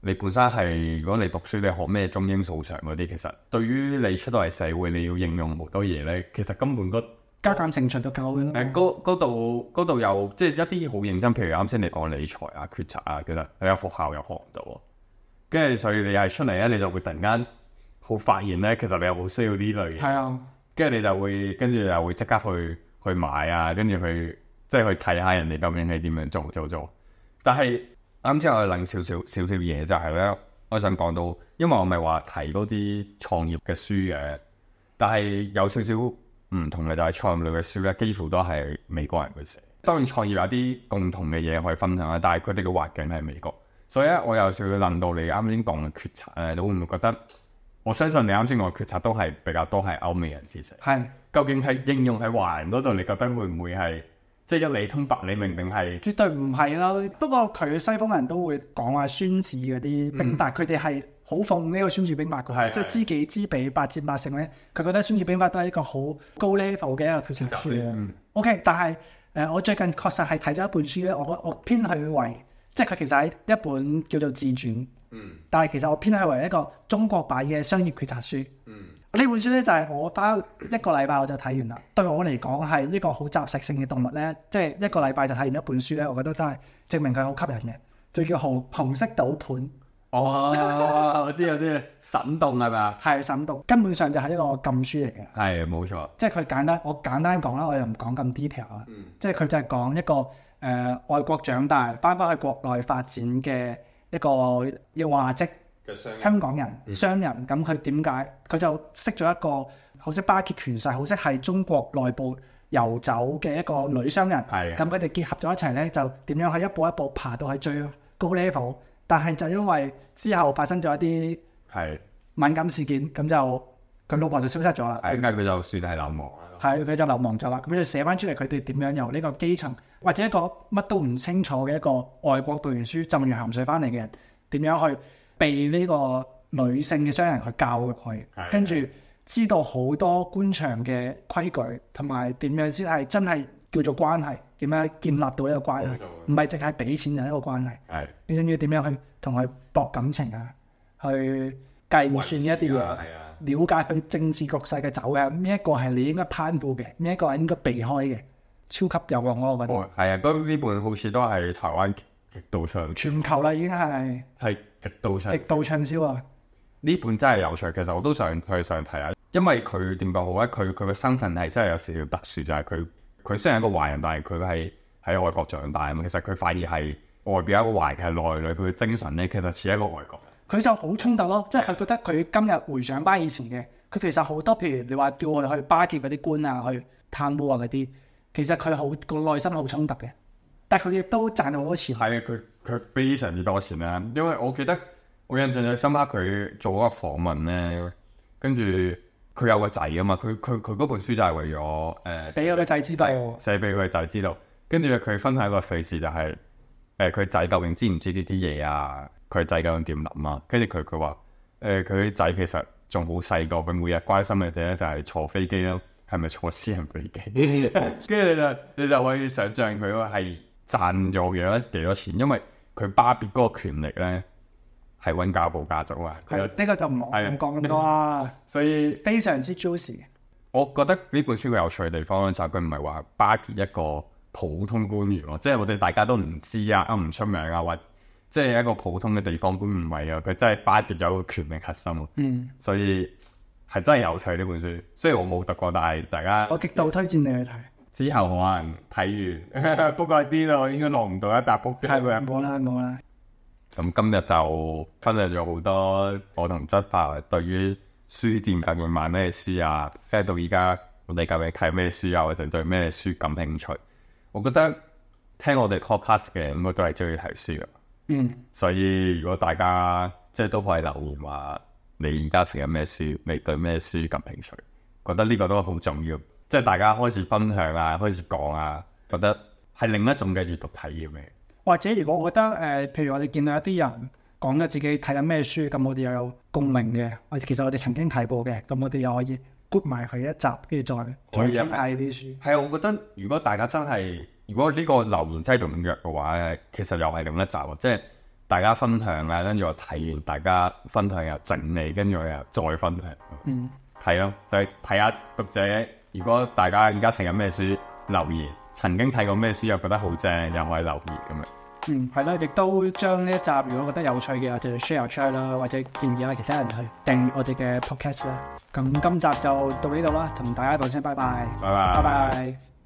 你本身係如果你讀書你學咩中英數常嗰啲，其實對於你出到嚟社會你要應用好多嘢咧，其實根本加減乘除都夠嘅啦。 嗰度有即係一啲好認真，譬如啱先你講理財啊、決策啊，其實你喺學校又學唔到喎。跟住所以你係出嚟咧，你就會突然間好發現咧，其實你又好需要呢類嘢。 係啊， 跟住你就會跟住又會即刻去買啊，跟住去即係去睇下人哋究竟係點樣做。但係啱先我諗少少嘢就係咧，我想講到，因為我咪話睇嗰啲創業嘅書嘅，但係有少少唔同嘅就係創業類嘅書咧，幾乎都係美國人去寫。當然創業有啲共同嘅嘢可以分享啦，但係佢哋嘅環境係美國，所以咧我有少少諗到你啱先講嘅決策咧，你會唔會覺得？我相信你啱先講嘅決策都係比較多係歐美人士寫。 係。 究竟係應用喺華人嗰度，你覺得會唔會係即係一理通百理明定係？ 絕對唔係啦。不過佢西方人都會講話孫子嗰啲兵法，佢哋係好奉呢個孫子兵法嘅，即係知己知彼，百戰百勝咧。佢覺得孫子兵法都係一個好高 level 嘅一個決策書。OK， 但係我最近確實係睇咗一本書咧，我偏去為即係佢其實係一本叫做自傳。但係其實我偏向為一個中國版嘅商業決策書。呢本書咧就係我花一個禮拜我就睇完啦。對我嚟講係一個好雜食性嘅動物咧，即係一個禮拜就睇完一本書咧，我覺得都係證明佢好吸引嘅。就叫紅色賭盤。 哦，我知，審動係咪啊？ 係審動，根本上就係一個禁書嚟嘅。 係冇錯。即係佢我簡單講啦，我又唔講咁 detail 啦。即係佢就係講一個外國長大翻去國內發展嘅一個要話職香港人商人，咁佢點解佢就識咗一個好識巴結權勢、好識係中國內部遊走嘅一個女商人。咁佢哋結合咗一齊咧，就點樣去一步一步爬到去最高 level。但係就因為之後發生咗一啲敏感事件，咁就佢老婆就消失咗啦。 點解佢就算係流亡啦？ 係佢就流亡咗啦。咁就寫翻出嚟，佢哋點樣由呢個基層或者一個乜都唔清楚嘅一個外國讀完書浸完鹹水翻嚟嘅人，點樣去被呢個女性嘅商人去教育佢，跟住知道好多官場嘅規矩，同埋點樣先係真係叫做關係，點樣建立到呢個關係，唔係淨係俾錢就一個關係。你仲要點樣去同佢搏感情啊？去計算一啲嘢，了解佢政治局勢嘅走向，邊一個係你應該攀附嘅，邊一個係應該避開嘅，超級有用咯！我覺得。 係啊，呢本好似都係台灣極度暢， 全球啦已經係極度暢銷啊！ 呢本真係有趣，其實我都想睇下，因為佢點講好咧？佢嘅身份係真係有少少特殊，就係佢雖然係一個華人，但係佢係喺外國長大啊嘛。其實佢反而係外表一個華人，係內裏佢嘅精神咧，其實似一個外國人。 佢就好衝突咯，即係佢覺得佢今日回想翻以前嘅，佢其實好多譬如你話叫我哋去巴結嗰啲官啊，去貪污啊嗰啲，其實佢好個內心好衝突嘅。但係佢亦都賺好多錢。 係啊，佢非常之多錢啦。因為我記得我印象最深刻，佢做嗰個訪問咧，跟住佢有個仔啊嘛。佢嗰本書就係為咗俾我個仔知道， 寫俾佢個仔知道。跟住佢分享一個趣事就係佢仔究竟知唔知呢啲嘢啊？佢仔究竟點諗啊？跟住佢話佢仔其實仲好細個，佢每日關心嘅嘢咧就係坐飛機咯，係咪坐私人飛機？跟住你就可以想象佢係賺咗幾多錢，因為佢巴別嗰個權力咧係溫家寶家族啊。 呢個就唔講咁多啦。所以非常之 juicy。 我覺得呢本書佢有趣嘅地方咧，就係佢唔係話巴結一個普通官員咯，即係我哋大家都唔知啊，唔出名啊，或即係一個普通嘅地方官唔係啊，佢真係巴結咗個權力核心。所以係真係有趣呢本書。雖然我冇讀過，但係大家我極度推薦你去睇。 之後可能睇完，不過啲咯，應該落唔到一沓卜。 係咪？冇啦。 咁今日就分享咗好多我同執法對於書店究竟買咩書啊，跟住到而家我哋究竟睇咩書啊，或者對咩書感興趣。我覺得聽我哋 podcast 嘅應該都係中意睇書嘅。所以如果大家即係都可以留言話你而家睇緊咩書，你對咩書感興趣，覺得呢個都好重要。即係大家開始分享啊，開始講啊，覺得係另一種嘅閱讀體驗嘅。 或者如果我覺得譬如我哋見到一啲人講咗自己睇緊咩書，咁我哋又有共鳴嘅，其實我哋曾經睇過嘅，咁我哋又可以 group 埋佢一集，跟住再傾下呢啲書。 係啊，我覺得如果大家真係，如果呢個留言真係踴躍嘅話，其實又係另一集喎。即係大家分享啦，跟住我睇完大家分享又整理，跟住我又再分享。係咯，就係睇下讀者，如果大家而家睇緊咩書留言，曾經睇過咩書又覺得好正，又可以留言咁樣。 係啦，亦都將呢一集如果覺得有趣嘅，我哋 share 出去啦，或者建議下其他人去訂閱我哋嘅 podcast 啦。咁今集就到呢度啦，同大家講聲拜拜， 拜拜。 拜拜。